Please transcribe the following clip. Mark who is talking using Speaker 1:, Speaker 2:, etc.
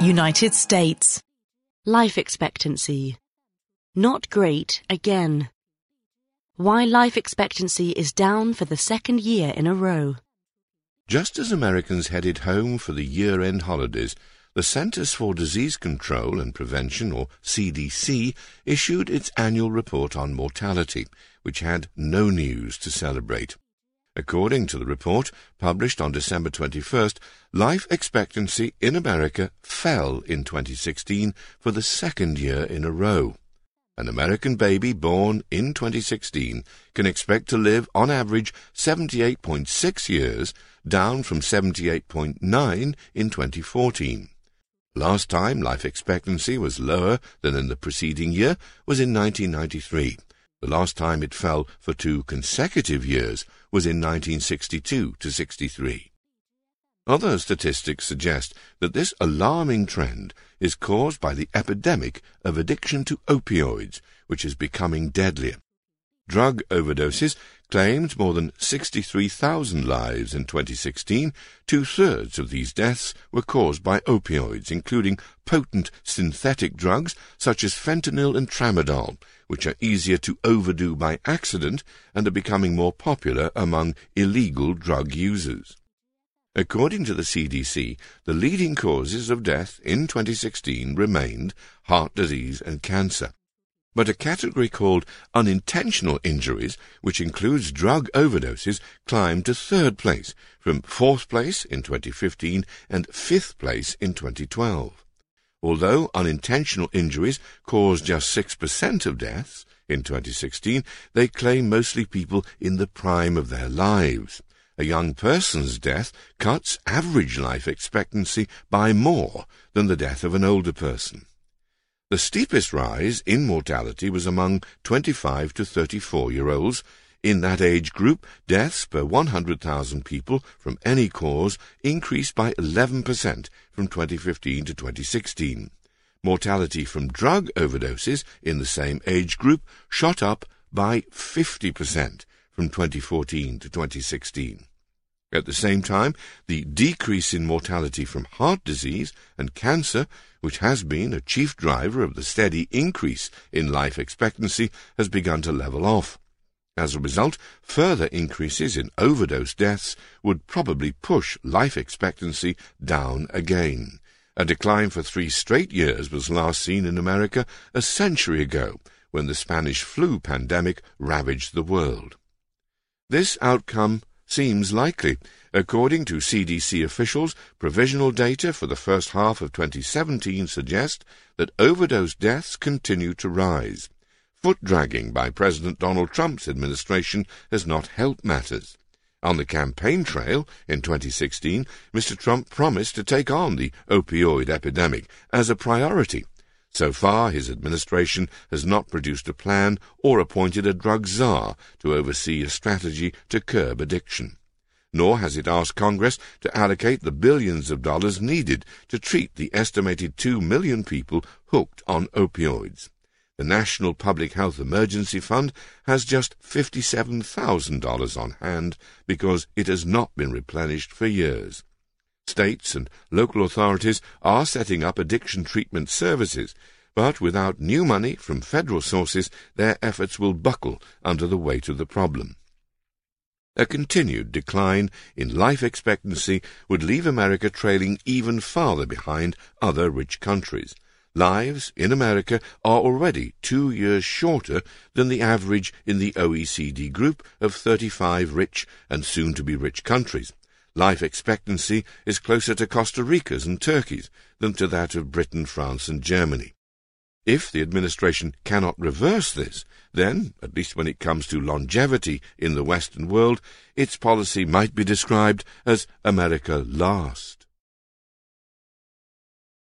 Speaker 1: United States.
Speaker 2: Life expectancy. Not great again. Why life expectancy is down for the second year in a row.
Speaker 3: Just as Americans headed home for the year-end holidays, the Centers for Disease Control and Prevention, or CDC, issued its annual report on mortality, which had no news to celebrate. According to the report, published on December 21st, life expectancy in America fell in 2016 for the second year in a row. An American baby born in 2016 can expect to live on average 78.6 years, down from 78.9 in 2014. Last time life expectancy was lower than in the preceding year was in 1993. The last time it fell for 2 consecutive years was in 1962 to 63. Other statistics suggest that this alarming trend is caused by the epidemic of addiction to opioids, which is becoming deadlier. Drug overdoses claimed more than 63,000 lives in 2016. 2/3 of these deaths were caused by opioids, including potent synthetic drugs such as fentanyl and tramadol, which are easier to overdo by accident and are becoming more popular among illegal drug users. According to the CDC, the leading causes of death in 2016 remained heart disease and cancer. But a category called unintentional injuries, which includes drug overdoses, climbed to 3rd place, from 4th place in 2015 and 5th place in 2012. Although unintentional injuries caused just 6% of deaths in 2016, they claim mostly people in the prime of their lives. A young person's death cuts average life expectancy by more than the death of an older person. The steepest rise in mortality was among 25 to 34-year-olds. In that age group, deaths per 100,000 people from any cause increased by 11% from 2015 to 2016. Mortality from drug overdoses in the same age group shot up by 50% from 2014 to 2016. At the same time, the decrease in mortality from heart disease and cancer, which has been a chief driver of the steady increase in life expectancy, has begun to level off. As a result, further increases in overdose deaths would probably push life expectancy down again. A decline for 3 straight years was last seen in America a century ago, when the Spanish flu pandemic ravaged the world. This outcome seems likely. According to CDC officials, provisional data for the first half of 2017 suggest that overdose deaths continue to rise. Foot-dragging by President Donald Trump's administration has not helped matters. On the campaign trail in 2016, Mr. Trump promised to take on the opioid epidemic as a priority. So far, his administration has not produced a plan or appointed a drug czar to oversee a strategy to curb addiction. Nor has it asked Congress to allocate the billions of dollars needed to treat the estimated 2 million people hooked on opioids. The National Public Health Emergency Fund has just $57,000 on hand because it has not been replenished for years. States and local authorities are setting up addiction treatment services, but without new money from federal sources, their efforts will buckle under the weight of the problem. A continued decline in life expectancy would leave America trailing even farther behind other rich countries. Lives in America are already 2 years shorter than the average in the OECD group of 35 rich and soon-to-be rich countries. Life expectancy is closer to Costa Rica's and Turkey's than to that of Britain, France, and Germany. If the administration cannot reverse this, then, at least when it comes to longevity in the Western world, its policy might be described as America Last.